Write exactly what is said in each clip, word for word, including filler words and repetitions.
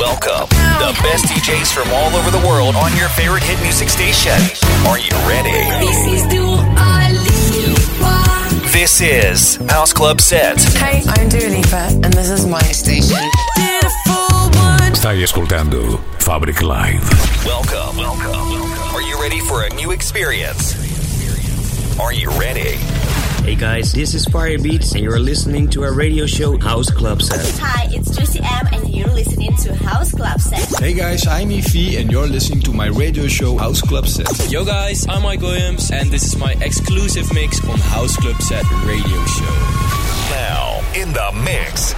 Welcome, the best D Js from all over the world on your favorite hit music station. Are you ready? This is Dua Lipa. This is House Club Set. Hey, I'm Dua Lipa and this is my station. Stai ascoltando Fabric Live. Welcome, welcome, welcome. Are you ready for a new experience? Are you ready? Hey guys, this is Firebeats and you're listening to our radio show House Club Set. Hi, it's Juicy M and you're listening to House Club Set. Hey guys, I'm Efi and you're listening to my radio show House Club Set. Yo guys, I'm Mike Williams and this is my exclusive mix on House Club Set radio show. Now, in the mix.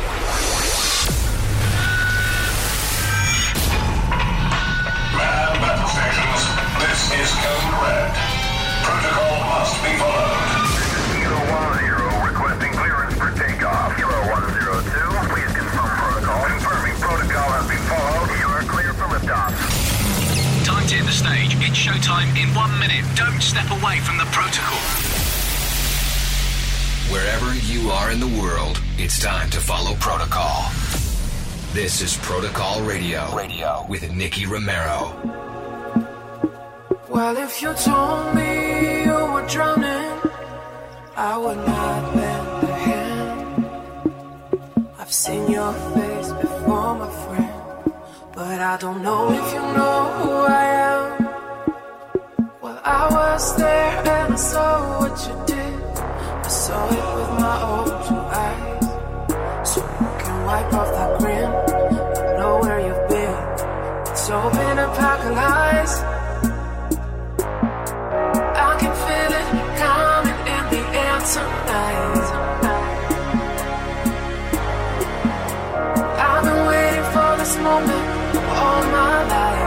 Man battle stations, this is Code Red. Protocol must be followed. Zero one zero requesting clearance for takeoff. Zero one zero two, please confirm protocol. Confirming protocol has been followed. You are clear for liftoff. Time to hit the stage. It's showtime in one minute. Don't step away from the protocol. Wherever you are in the world, it's time to follow protocol. This is Protocol Radio, Radio with Nicky Romero. Well, if you told me you were drowning, I would not lend a hand. I've seen your face before, my friend, but I don't know if you know who I am. Well, I was there and I saw what you did. I saw it with my own two eyes. So you can wipe off that grin. I know where you've been. It's all been a pack of lies. I can feel it coming in the air tonight. I've been waiting for this moment all my life.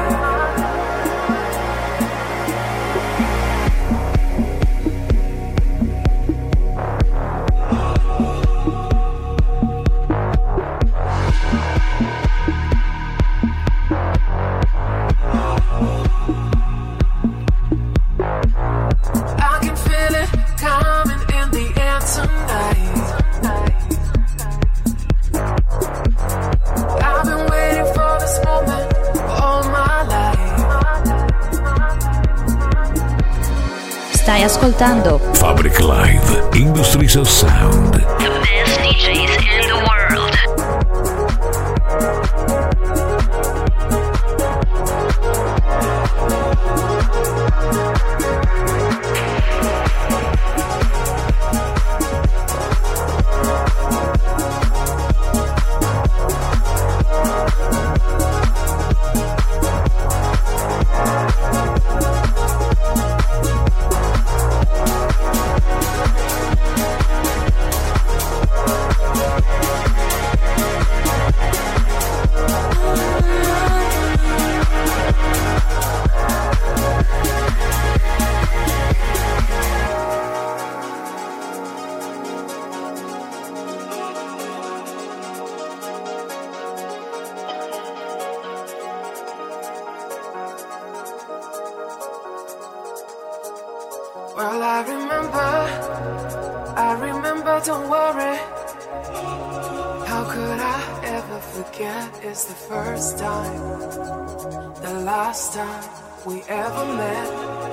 Stai ascoltando Fabric Live, Industries of Sound. The best D Js in the world. Well, I remember, I remember, don't worry. How could I ever forget? It's the first time, the last time we ever met.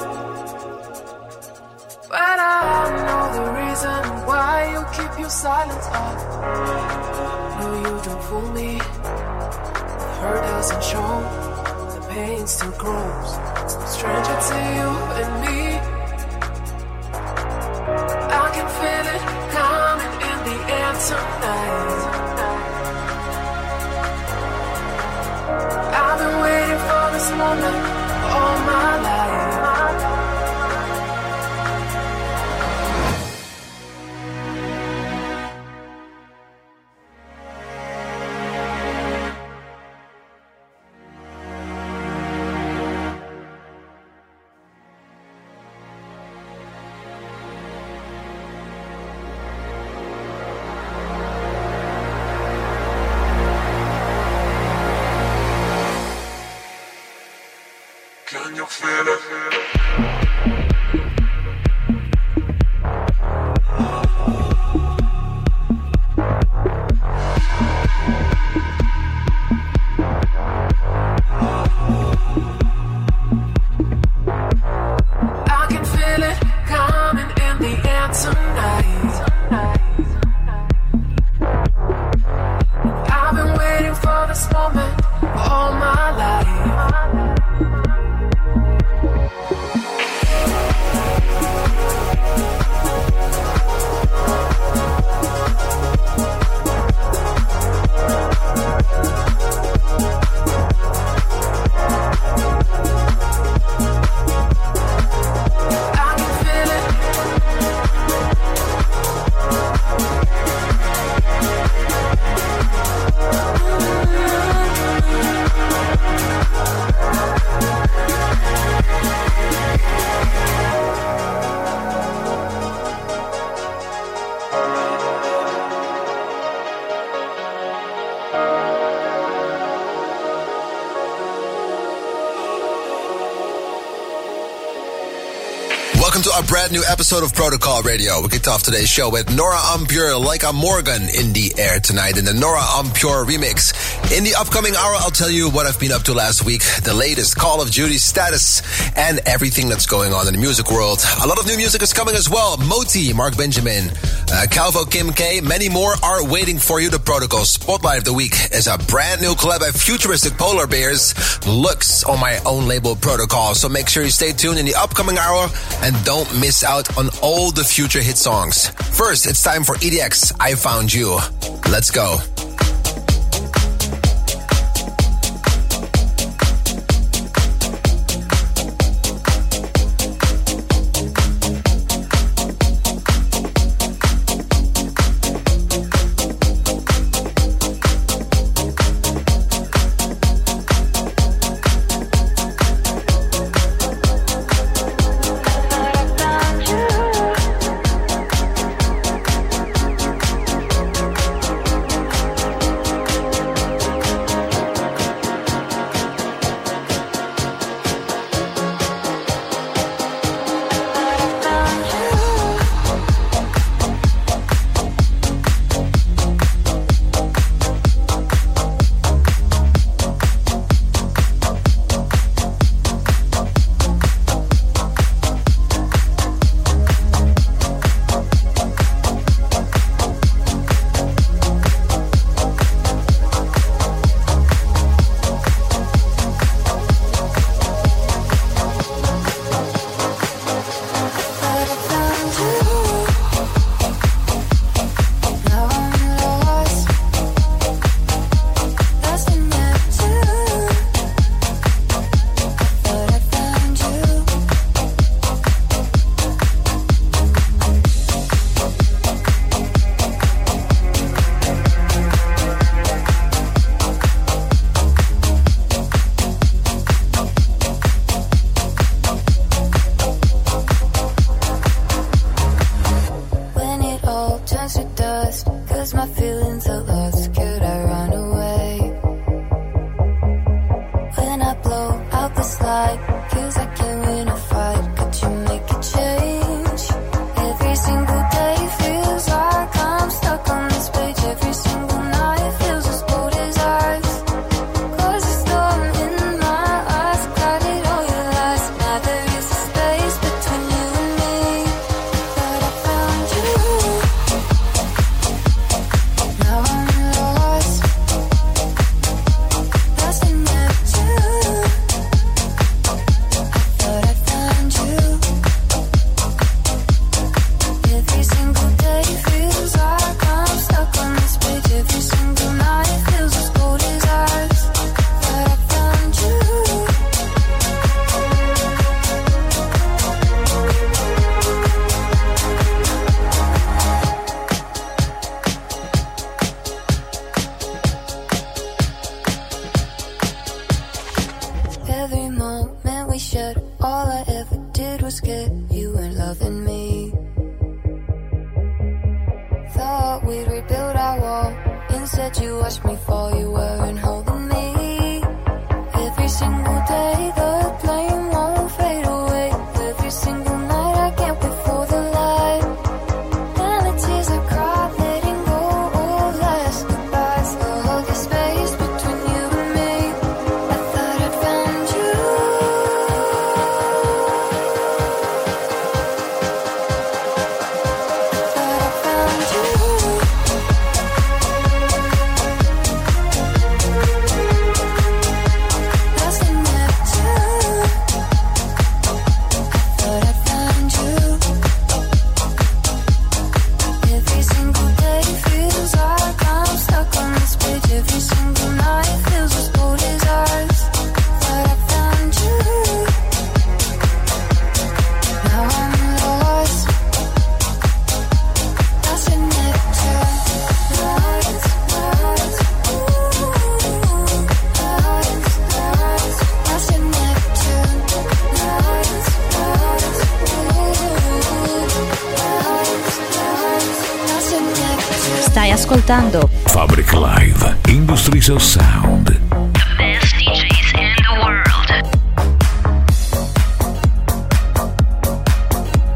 But I know the reason why you keep your silence up. No, you don't fool me. The hurt doesn't show, the pain still grows. It's no stranger to you and me. I can feel it coming in the air tonight. I've been waiting for this moment all my life. Can you feel it? Welcome to a brand new episode of Protocol Radio. We kicked off today's show with Nora En Pure, Like a Morgan, in the air tonight in the Nora En Pure remix. In the upcoming hour, I'll tell you what I've been up to last week, the latest Call of Duty status, and everything that's going on in the music world. A lot of new music is coming as well. Moti, Mark Benjamin, uh, Calvo Kim K, many more are waiting for you. The Protocol Spotlight of the Week is a brand new collab by futuristic polar bears, Lux, on my own label Protocol. So make sure you stay tuned in the upcoming hour and don't miss out on all the future hit songs. First, it's time for E D X, I Found You. Let's go. Stai ascoltando Fabric Live, Industries of Sound. The best D Js in the world.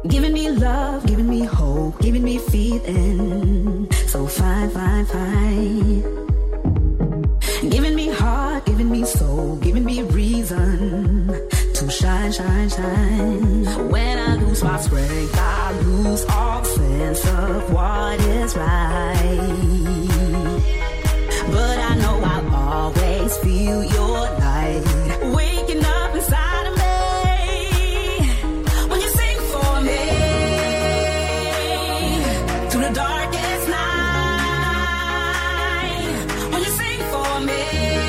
Giving me love, giving me hope, giving me feeling so fine, fine, fine. Giving me heart, giving me soul, giving me reason to shine, shine, shine. When I lose my strength, I lose all sense of what is right. But I know I'll always feel your light waking up inside of me. When you sing for me through the darkest night. When you sing for me,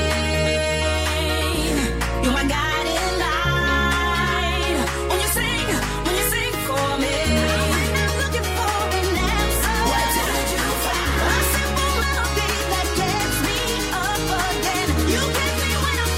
you're my guiding light. When you sing, when you sing for me, I'm looking for an answer. What did you find? A simple melody that gets me up again. You get me when I'm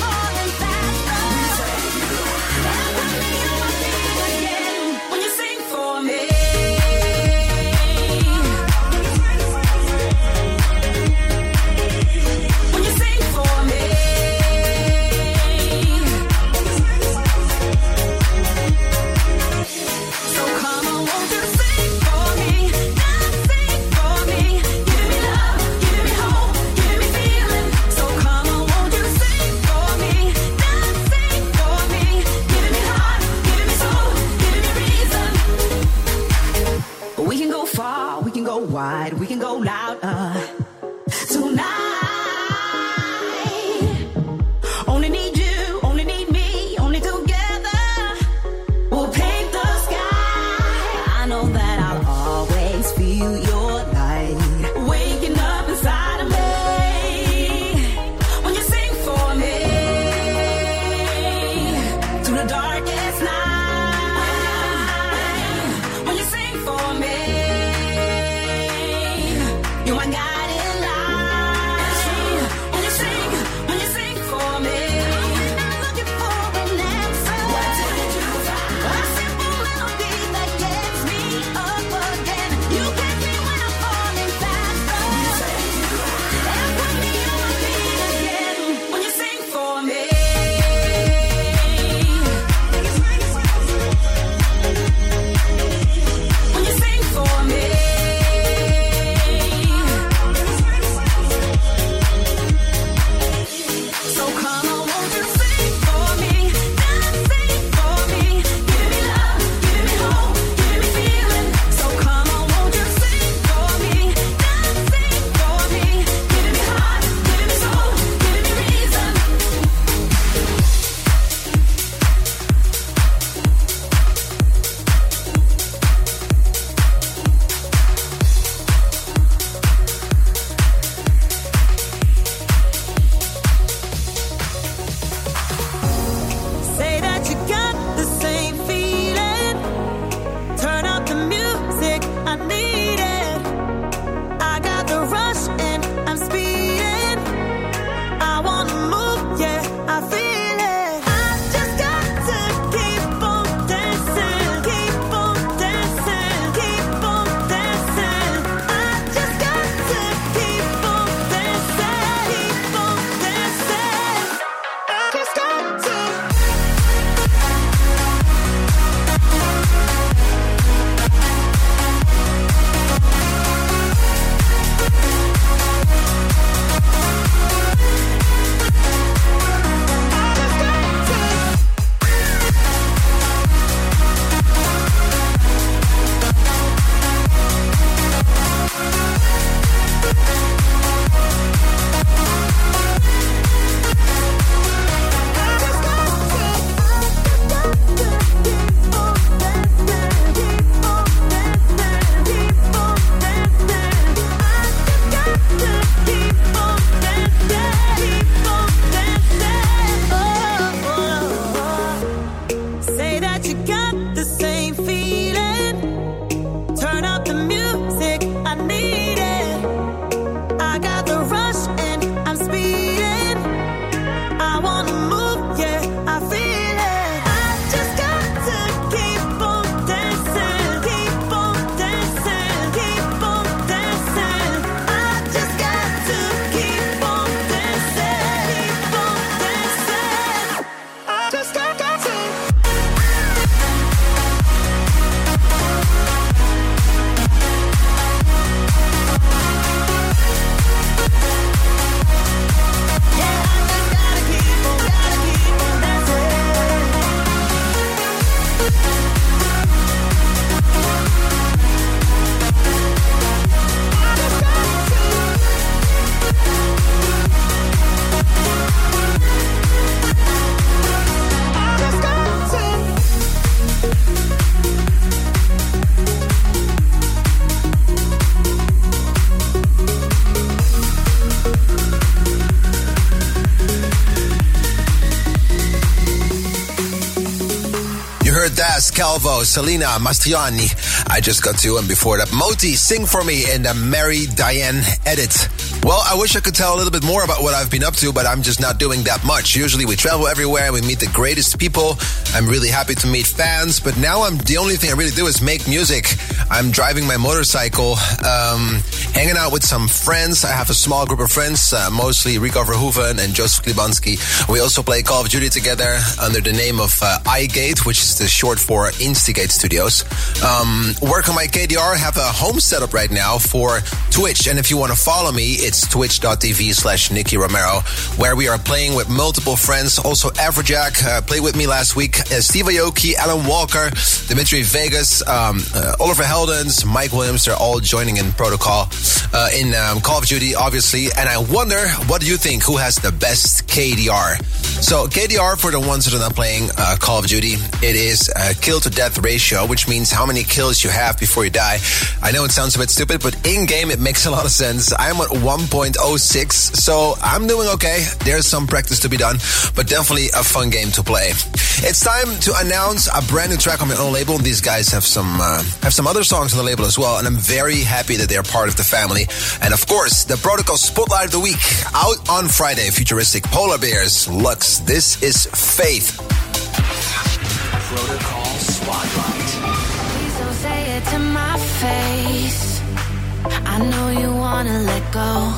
heard Das, Calvo, Selena, Mastriani, I Just Got To, and before that, Moti, Sing For Me in the Mary Diane edit. Well, I wish I could tell a little bit more about what I've been up to, but I'm just not doing that much. Usually we travel everywhere, we meet the greatest people. I'm really happy to meet fans, but now I'm the only thing I really do is make music. I'm driving my motorcycle, um, hanging out with some friends. I have a small group of friends, uh, mostly Rico Verhoeven and Joseph Klibanski. We also play Call of Duty together under the name of uh, iGate, which is the short for Instigate Studios. Um, work on my K D R, have a home setup right now for Twitch, and if you want to follow me, it's twitch.tv slash Nicky Romero, where we are playing with multiple friends. Also, Afrojack uh, played with me last week. Uh, Steve Aoki, Alan Walker, Dimitri Vegas, um, uh, Oliver Heldens, Mike Williams, they're all joining in Protocol uh, in um, Call of Duty, obviously. And I wonder, what do you think? Who has the best K D R? So K D R, for the ones that are not playing uh, Call of Duty, it is a kill to death ratio, which means how many kills you have before you die. I know it sounds a bit stupid, but in game it makes a lot of sense. I'm at one point oh six, so I'm doing okay. There's some practice to be done, but definitely a fun game to play. It's time to announce a brand new track on my own label. These guys have some uh, have some other songs on the label as well, and I'm very happy that they're part of the family. And of course, the Protocol Spotlight of the Week, out on Friday. Futuristic Polar Bears, Lux. This is Faith. Protocol Spotlight. Please don't say it to my face. I know you wanna let go.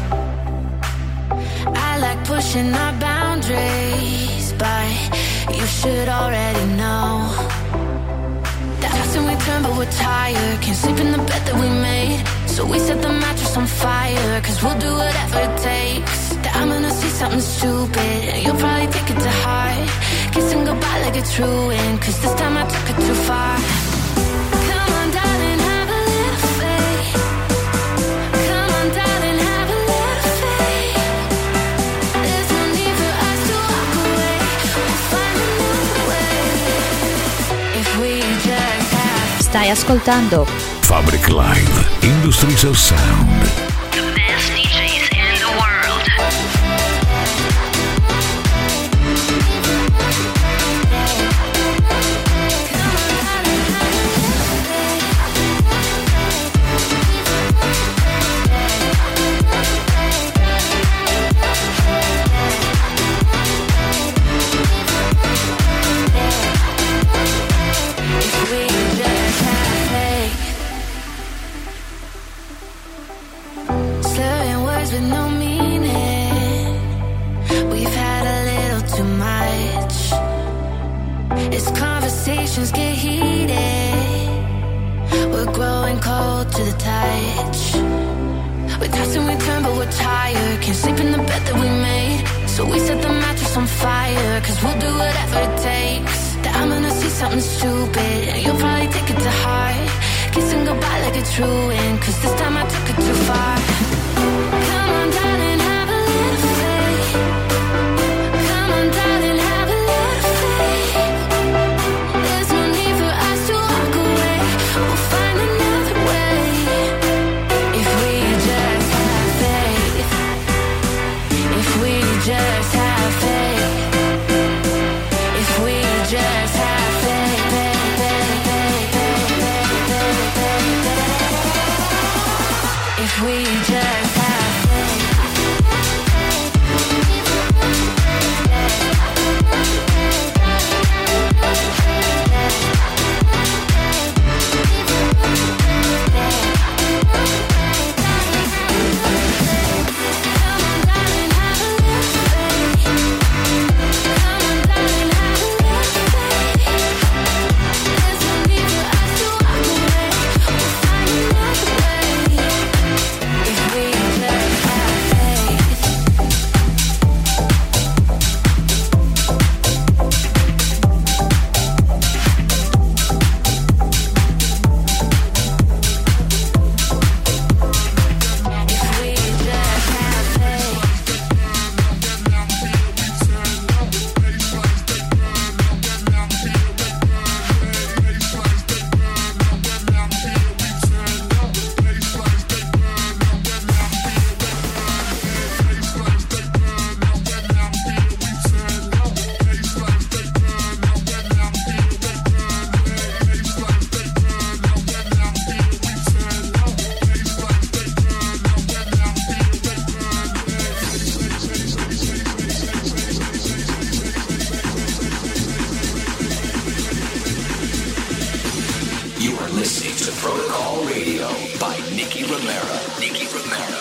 I like pushing our boundaries, but you should already know that often we turn but we're tired. Can't sleep in the bed that we made, so we set the mattress on fire. Cause we'll do whatever it takes. That I'm gonna see something stupid and you'll probably take it to heart. Kissing goodbye like it's ruined, cause this time I took it too far. Come on darling, have a little faith. Come on darling, have a little faith. There's no need for us to walk away. We'll find another way. If we just have. Stai ascoltando Fabric Live, Industries of Sound. The best D Js in the world. Get heated, we're growing cold to the touch. We toss and we turn but we're tired. Can't sleep in the bed that we made, so we set the mattress on fire. Cause we'll do whatever it takes. That I'm gonna see something stupid and you'll probably take it to heart. Kissing goodbye like it's ruined, cause this time I took it too far. Come on darling, have a little faith. Come on darling, have a little faith. Just have faith. If we just have faith, faith, faith, faith, faith, faith, faith, faith. If we just You are listening to Protocol Radio by Nicky Romero. Nicky Romero.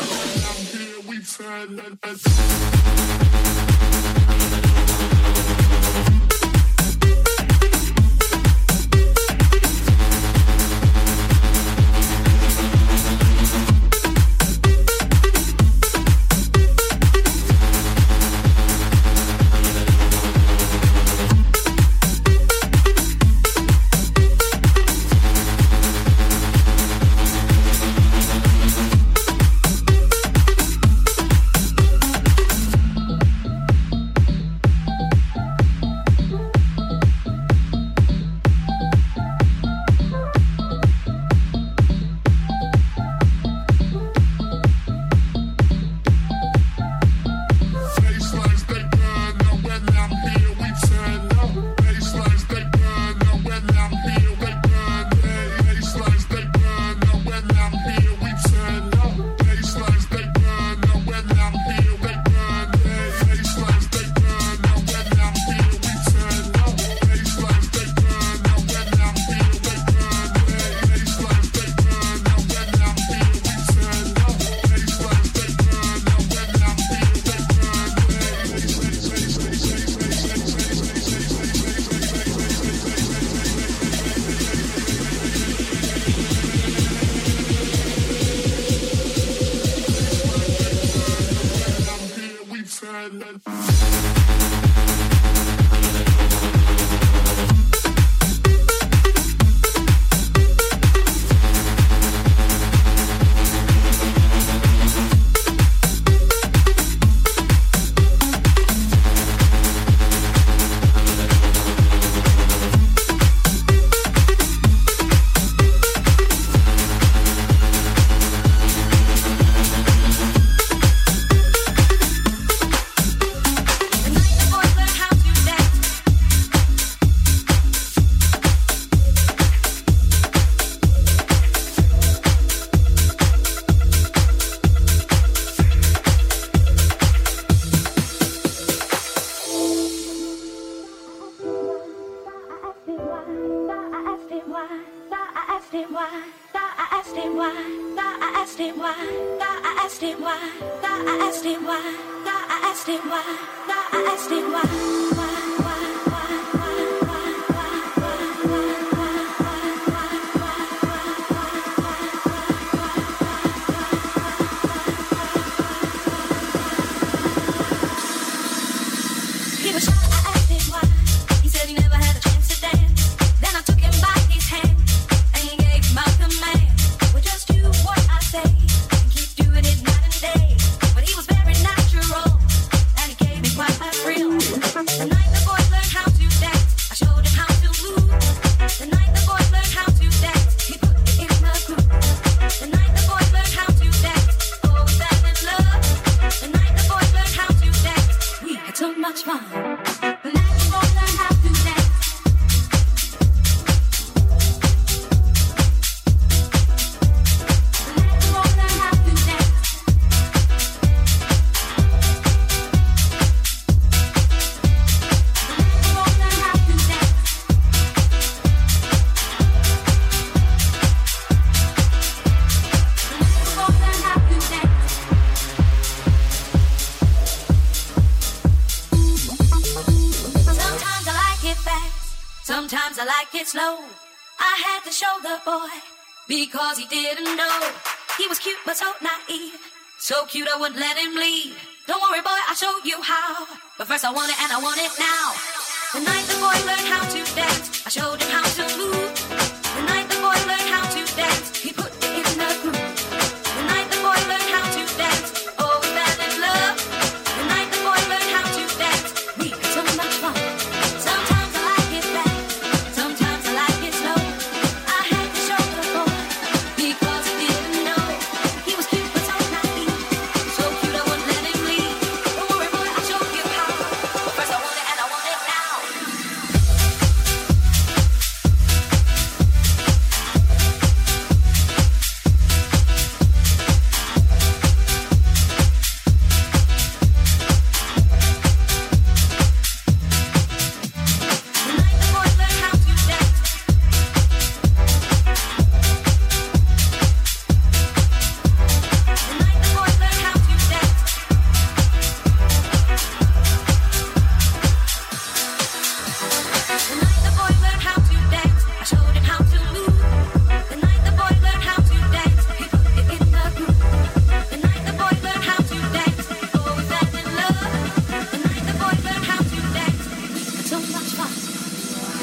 Sometimes I like it slow. I had to show the boy because he didn't know. He was cute but so naive, so cute I wouldn't let him leave. Don't worry boy, I'll show you how, but first I want it and I want it now. The night the boy learned how to dance, I showed him how to move. The night the boy learned how to dance, he put it in the groove. The night the boy learned how to dance, oh we fell in love. The night the boy learned how to dance, we had so much fun. Sometimes I like it fast, sometimes I like it slow. I had to show the boy because he didn't know. He was cute but so naive, so cute I wouldn't let him leave. Don't worry boy, I'll show you how, but first I want it and I want it now.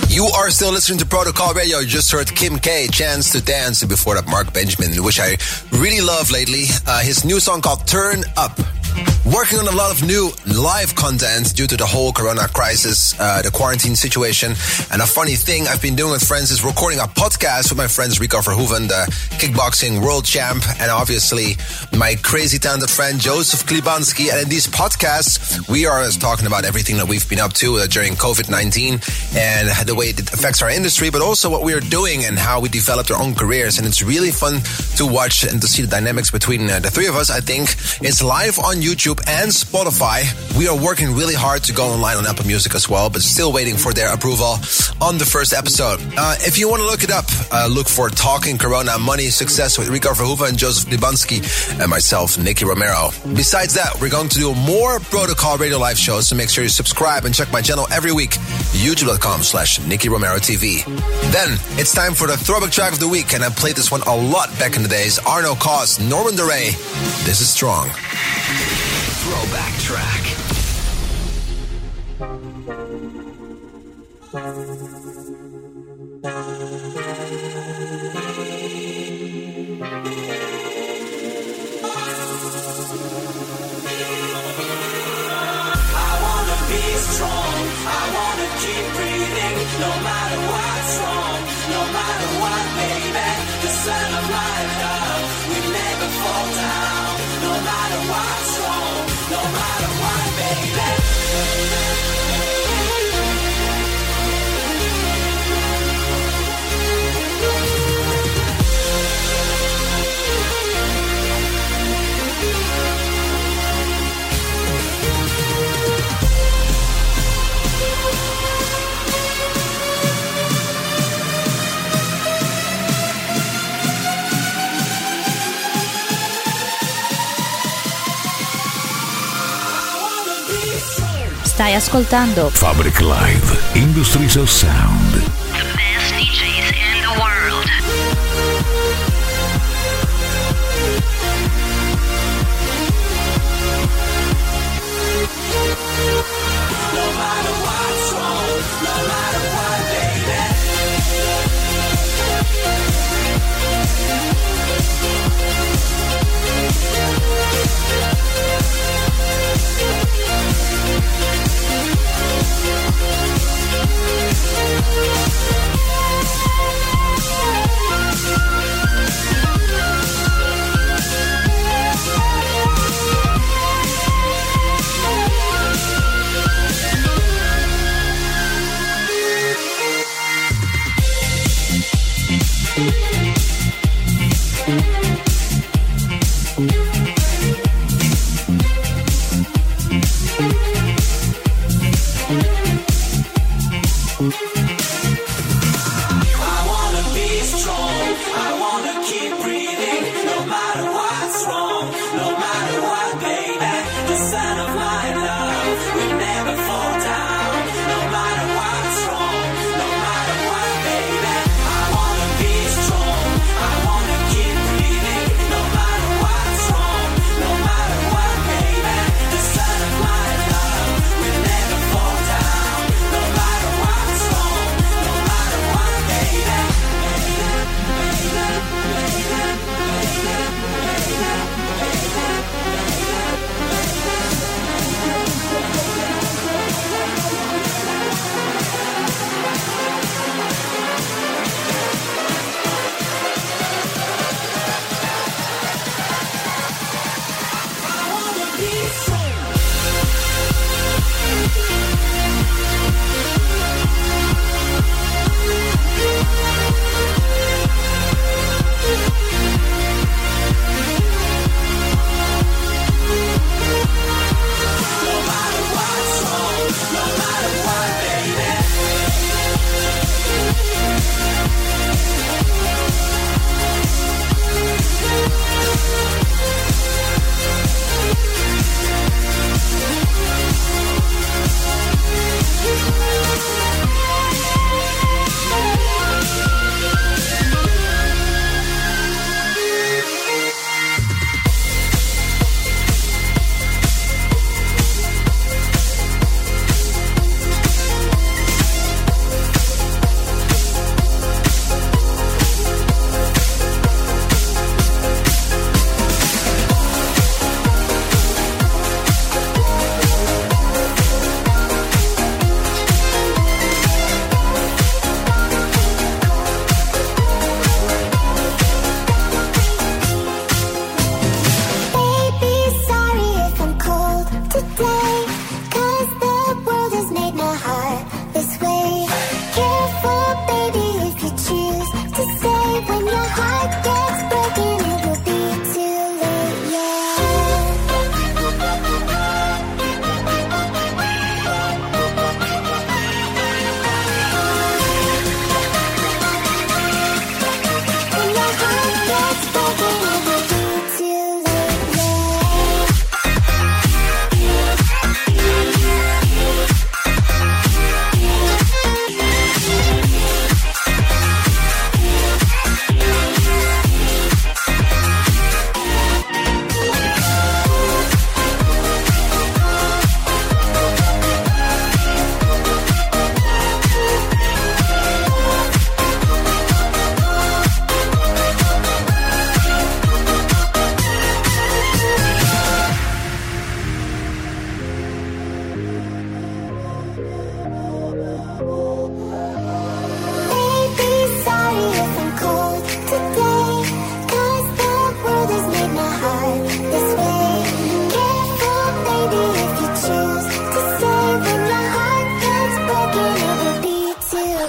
You are still listening to Protocol Radio. You just heard Kim K, Chance to Dance, and before that Mark Benjamin, which I really love lately. Uh, his new song called Turn Up. Working on a lot of new live content due to the whole corona crisis, uh, the quarantine situation. And a funny thing I've been doing with friends is recording a podcast with my friends Rico Verhoeven, the kickboxing world champ, and obviously my crazy talented friend Joseph Klibanski. And in these podcasts, we are talking about everything that we've been up to uh, during covid nineteen and the way it affects our industry, but also what we are doing and how we developed our own careers. And it's really fun to watch and to see the dynamics between uh, the three of us. I think it's live on YouTube and Spotify. We are working really hard to go online on Apple Music as well, but still waiting for their approval on the first episode. Uh, if you want to look it up, uh, look for Talking Corona Money Success with Rico Verhoeven and Joseph Klibanski and myself, Nicky Romero. Besides that, we're going to do more Protocol Radio live shows, so make sure you subscribe and check my channel every week, youtube.com slash Nicky Romero TV. Then, it's time for the throwback track of the week, and I played this one a lot back in the days. Arno Cos, Norman DeRay, This Is Strong. Throwback track. No matter what's wrong, no matter what, baby, the sun of my love will never fall down. No matter what's wrong, no matter what, baby. Stai ascoltando Fabric Live, Industries of Sound. The best D Js in the world. No matter what's wrong, no matter what, baby. What's wrong?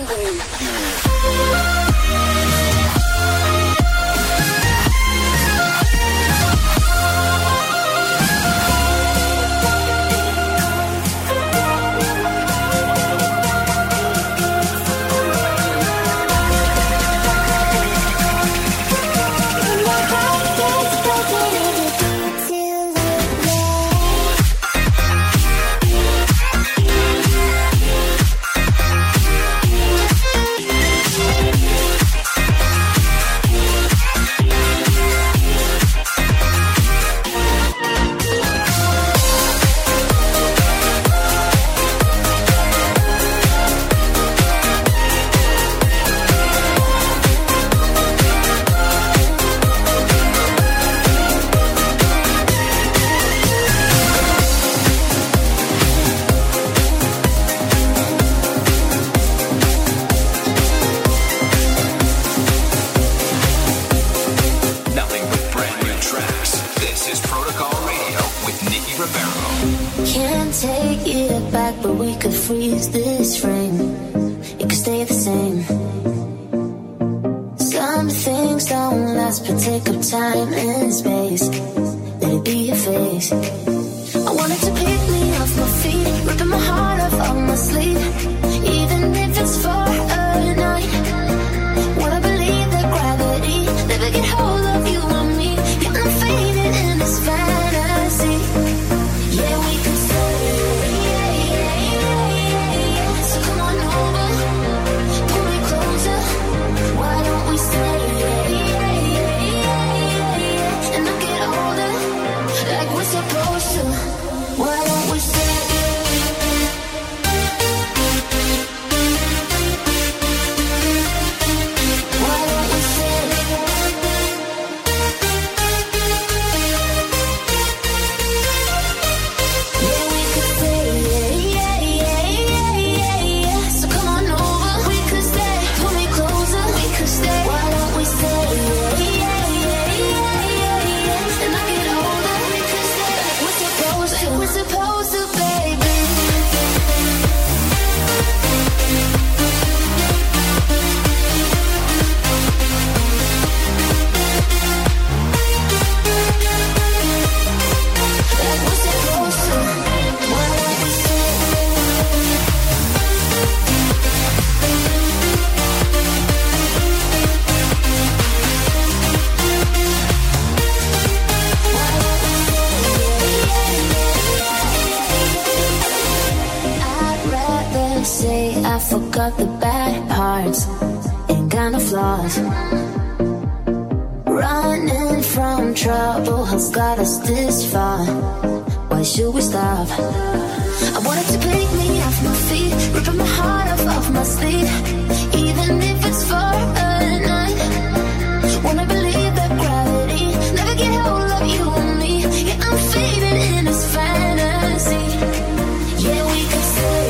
Forgot the bad parts and kind of flaws. Running from trouble has got us this far. Why should we stop? I wanted to pick me off my feet, ripping my heart off off my sleeve, even if it's for a night. Wanna believe that gravity never get hold of you and me. Yeah, I'm fading in this fantasy. Yeah, we could stay.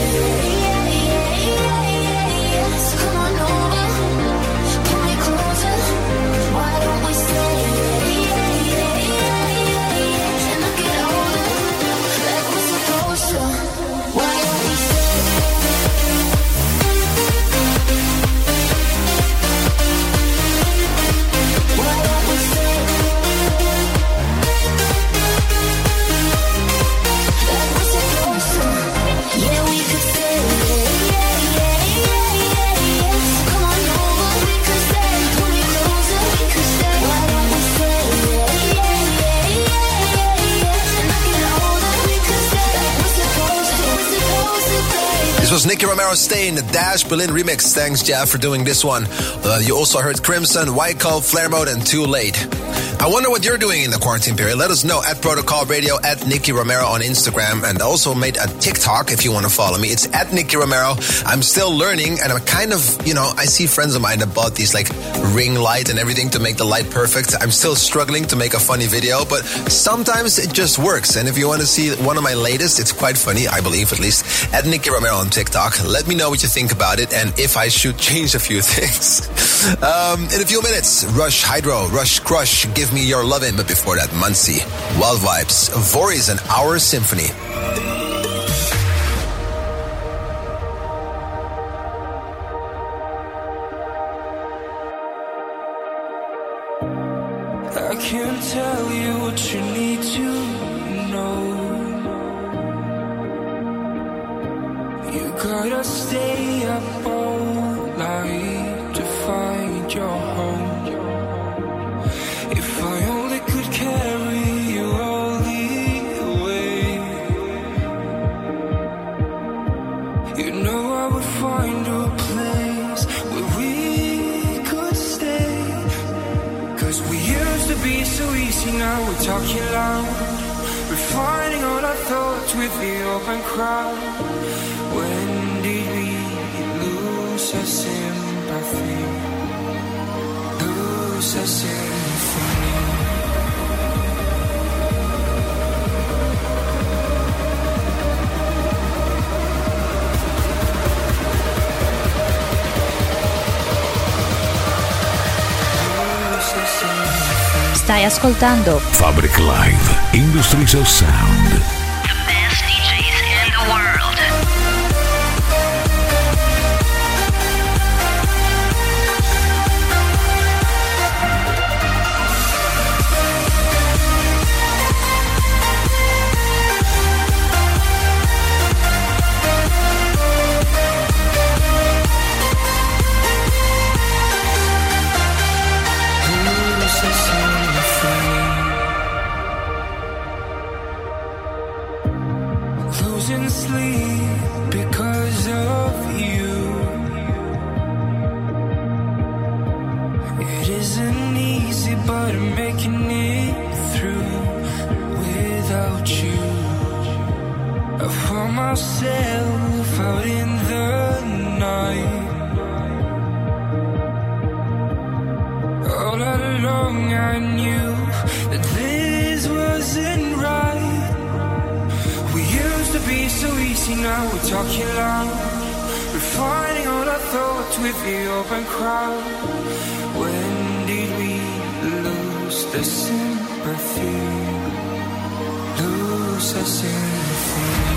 This was Nicky Romero, Stay in the Dash Berlin remix. Thanks, Jeff, for doing this one. Uh, you also heard Crimson, White Coat, Flare Mode, and Too Late. I wonder what you're doing in the quarantine period. Let us know at Protocol Radio, at Nicky Romero on Instagram, and also made a TikTok if you want to follow me. It's at Nicky Romero. I'm still learning, and I'm kind of, you know, I see friends of mine that bought these like ring light and everything to make the light perfect. I'm still struggling to make a funny video, but sometimes it just works. And if you want to see one of my latest, it's quite funny, I believe at least, at Nicky Romero on TikTok. Let me know what you think about it and if I should change a few things. um, in a few minutes, Rush Hydro, Rush Crush, Give Me Your Lovin'. But before that, Muncie, Wild Vibes, Voorhees and Our Symphony. can tell you what you need to know. You gotta stay up all night to find your home. If I only could carry you all the way, you know I would find a place where we could stay. Cause we used to be so easy, now we're talking loud, refining all our thoughts with the open crowd. When did we lose our sympathy? Lose our sympathy. Stai ascoltando Fabric Live, Industries of Sound. Losing sleep because of you. It isn't easy, but I'm making it through without you. I found myself out in the night. All along I knew that this wasn't right. We used to be so easy, now we're talking loud, refining all our thoughts with the open crowd. When did we lose the sympathy? Lose the sympathy.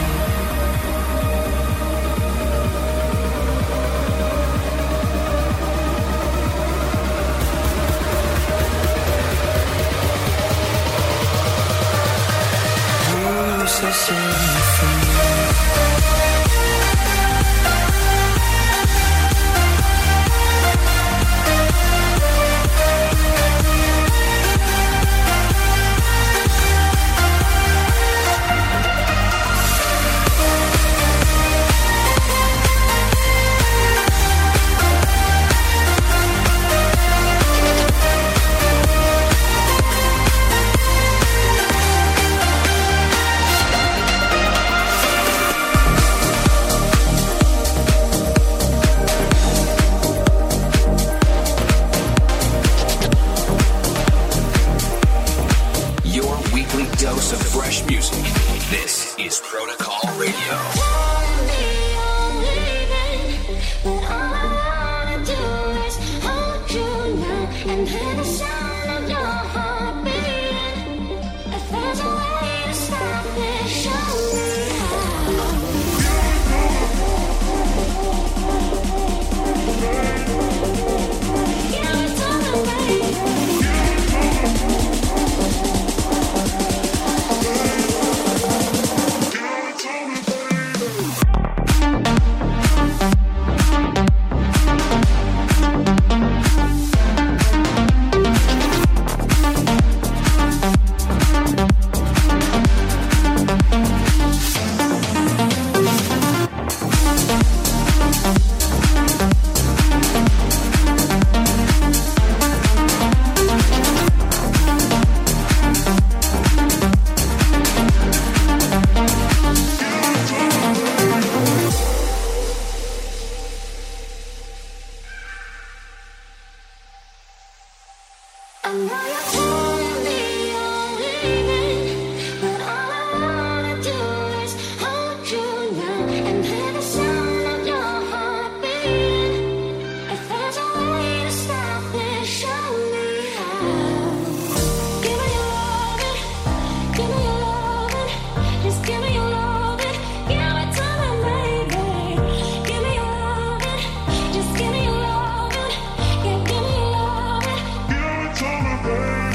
Give it to me, baby.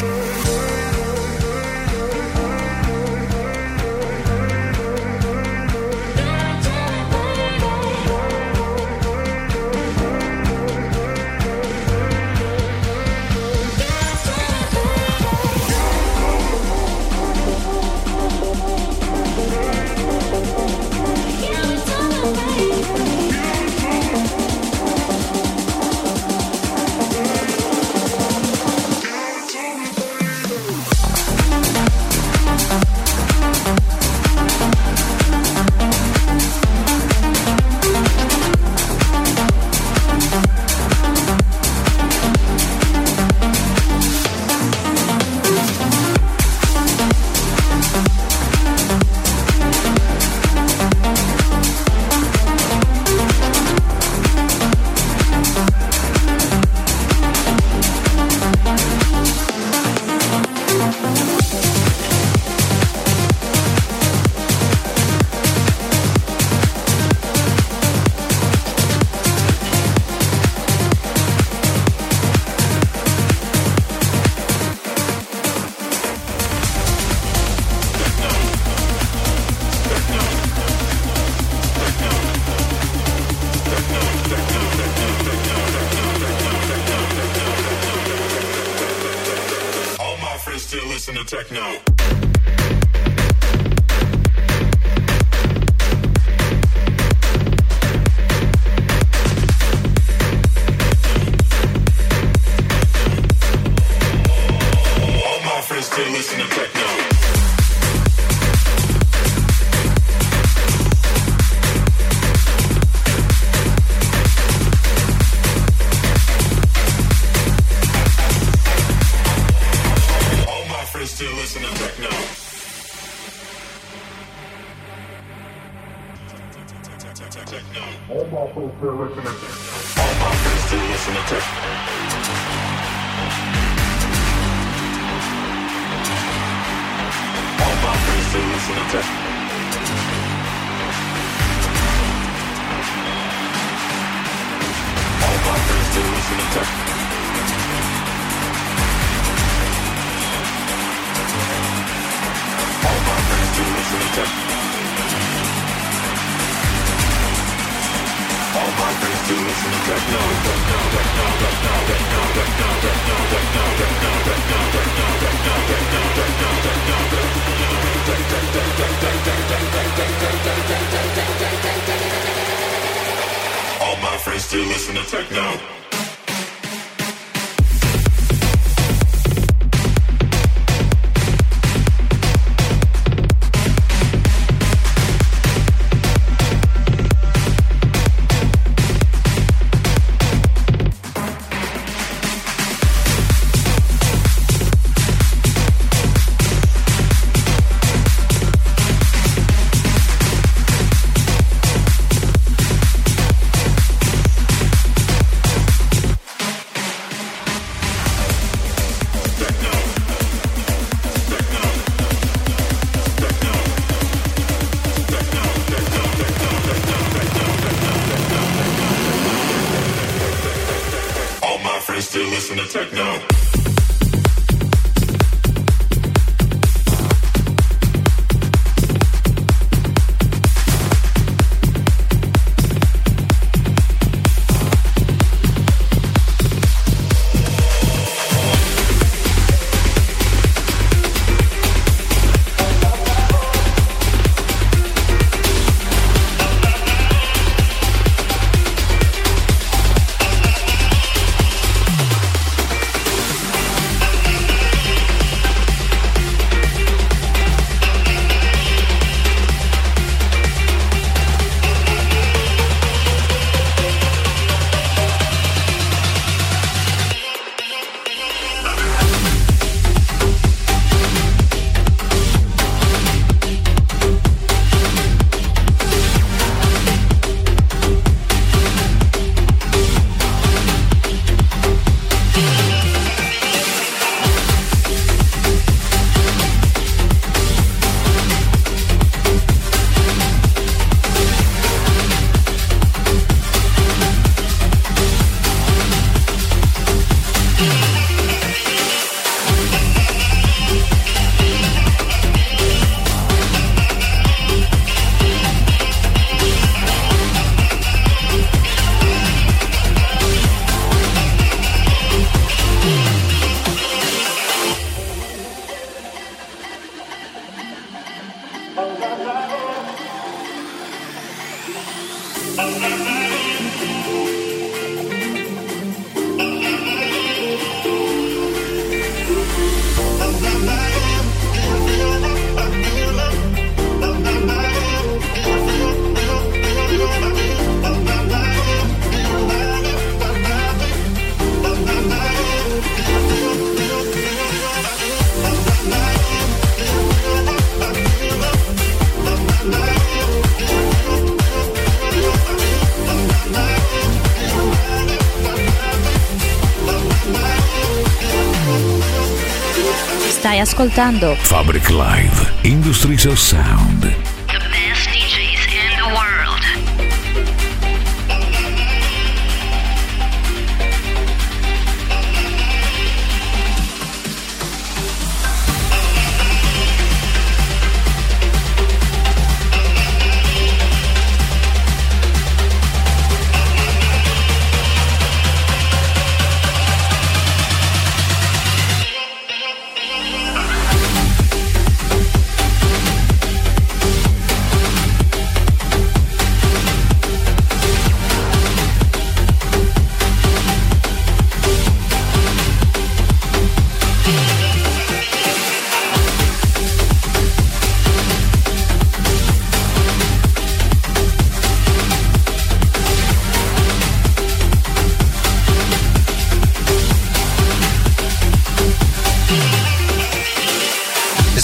techno. All my friends still listen to techno. Still listen to techno. Techno. All my friends still listen to techno. All my friends still listen to techno. All my friends still listen to techno. All my friends still listen to techno. All my friends still listen to techno. All my friends still listen to techno. Techno, techno, techno, techno, techno, techno, techno, techno, techno, techno, techno, techno. All my friends still listen to techno. Still listen to techno. Stai ascoltando Fabric Live, Industries of Sound. The best D Js in the world.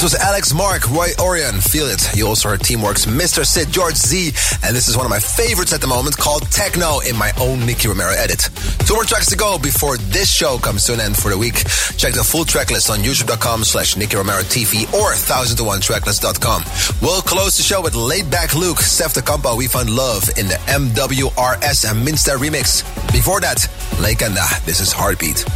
was Alex Mark, Roy Orion, Feel It. You also heard Teamwork's Mister Sid, George Z, and this is one of my favorites at the moment called Techno in my own Nicky Romero edit. Two more tracks to go before this show comes to an end for the week. Check the full track list on youtube.com slash Nicky Romero TV or one thousand one tracklist dot com. We'll close the show with Laid Back Luke, Steph the Campo, We Find Love in the M W R S and Minster remix. Before that, Leikanda, this is Heartbeat.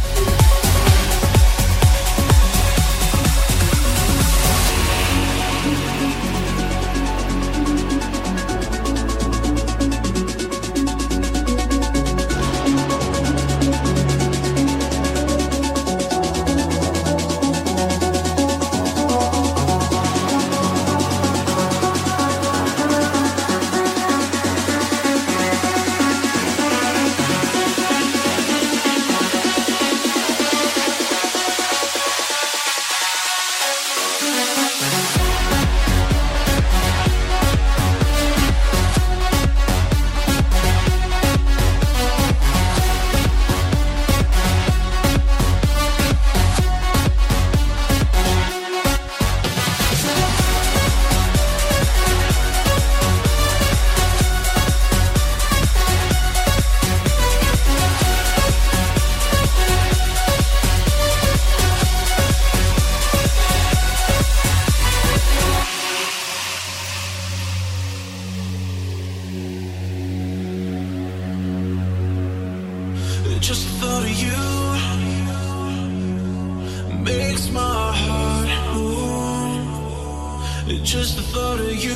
Just the thought of you makes my heart move. Just the thought of you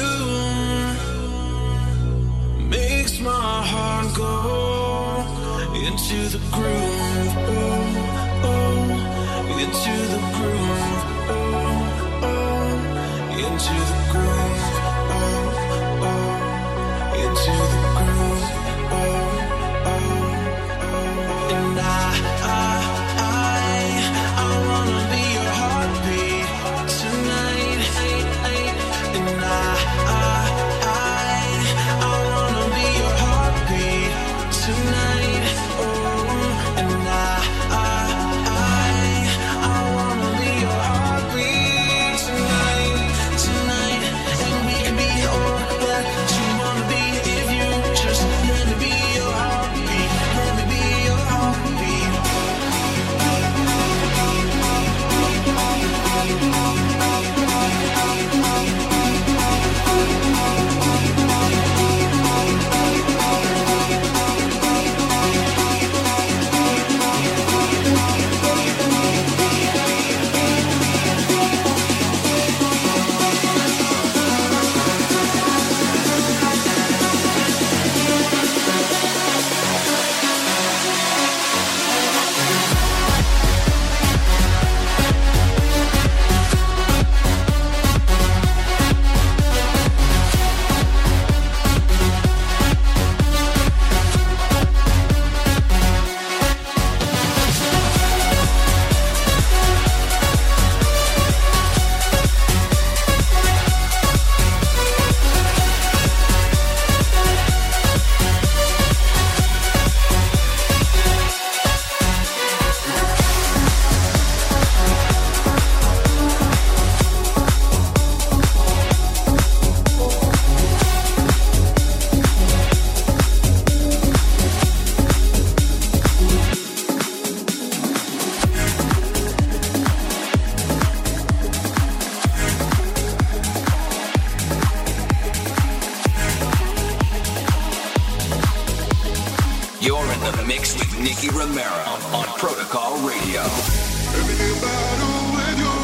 makes my heart go into the groove, oh, oh, into the groove, oh, oh, into the groove, oh, oh, into the groove, oh, oh. And I, I, I, I wanna be your heartbeat tonight. And I, I, I, I wanna be your heartbeat tonight. Oh, and I, I, I, I wanna be your heartbeat tonight, tonight. And we can be all that you wanna be if you just let me be your heartbeat. Let me be your heartbeat. You're in the mix with Nicky Romero on Protocol Radio. Everything battle with you.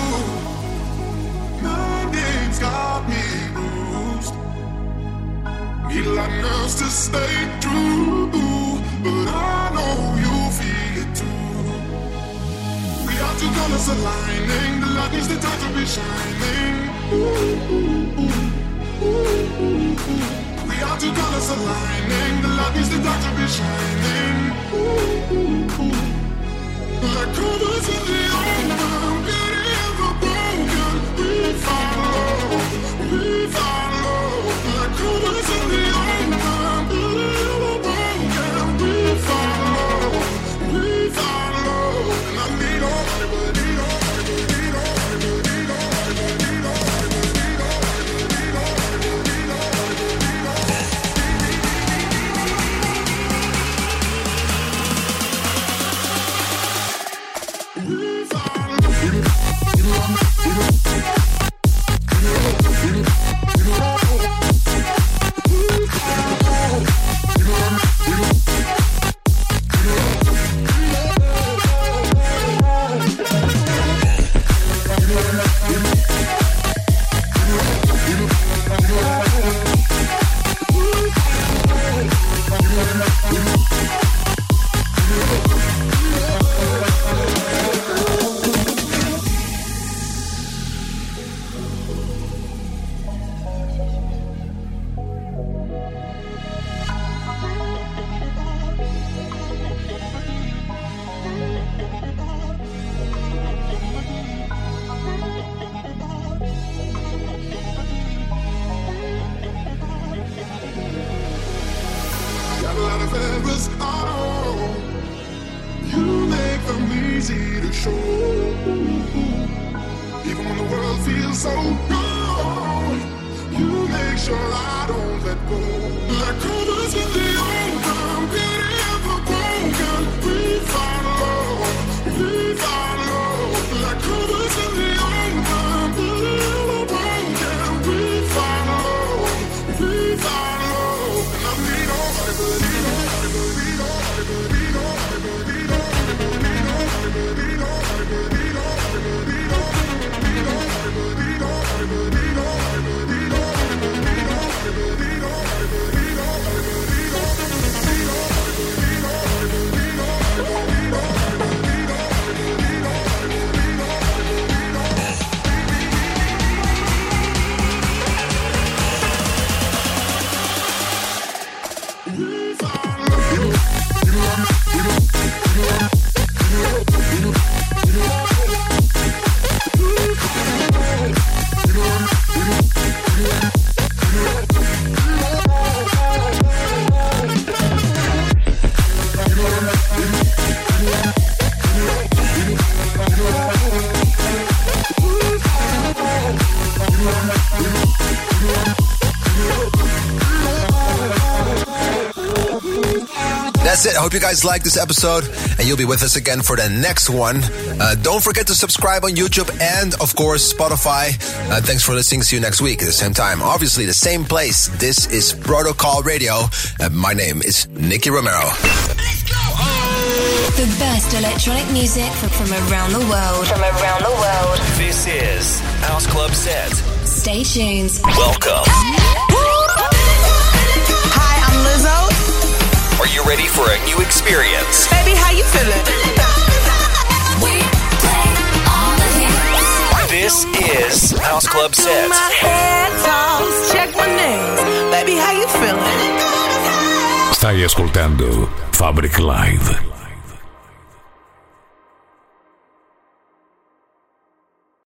My name's got me bruised. Need a lot of nerves to stay true, but I know you feel it too. We are two colors aligning. The light needs the time to be shining. Ooh, ooh, ooh, ooh, ooh, ooh. We are two colors aligning. The light needs the dark to be shining. Ooh, ooh, ooh. Like colors in the open, beauty of a broken. We follow, we follow. Like colors in the open, beauty of a broken. We follow, we follow. And I need all, I need all, I need all, I need all, I need all. I'm easy to show. Even when the world feels so cold, you make sure I don't let go. Like covers in the open, beauty of the broken. We find love, we find love. Like covers in the open, beauty of the broken. We find love, we find love. And I need nobody but you, nobody but you, nobody but you, nobody but you, nobody but you, nobody but you, nobody but you, nobody but you, nobody but you, nobody but you, nobody but you, nobody but you. That's it. I hope you guys like this episode, and you'll be with us again for the next one. Uh, don't forget to subscribe on YouTube and, of course, Spotify. Uh, thanks for listening. See you next week at the same time. Obviously, the same place. This is Protocol Radio. Uh, my name is Nicky Romero. Let's go! The best electronic music from, from around the world. From around the world. This is House Club Set. Stay tuned. Welcome. Hi, I'm Lizzo. Are you ready for a new experience? Baby, how you feeling? We play all the hits. This is House Club Set. My head toss, check my nails. Baby, how you feeling? Stai ascoltando Fabric Live.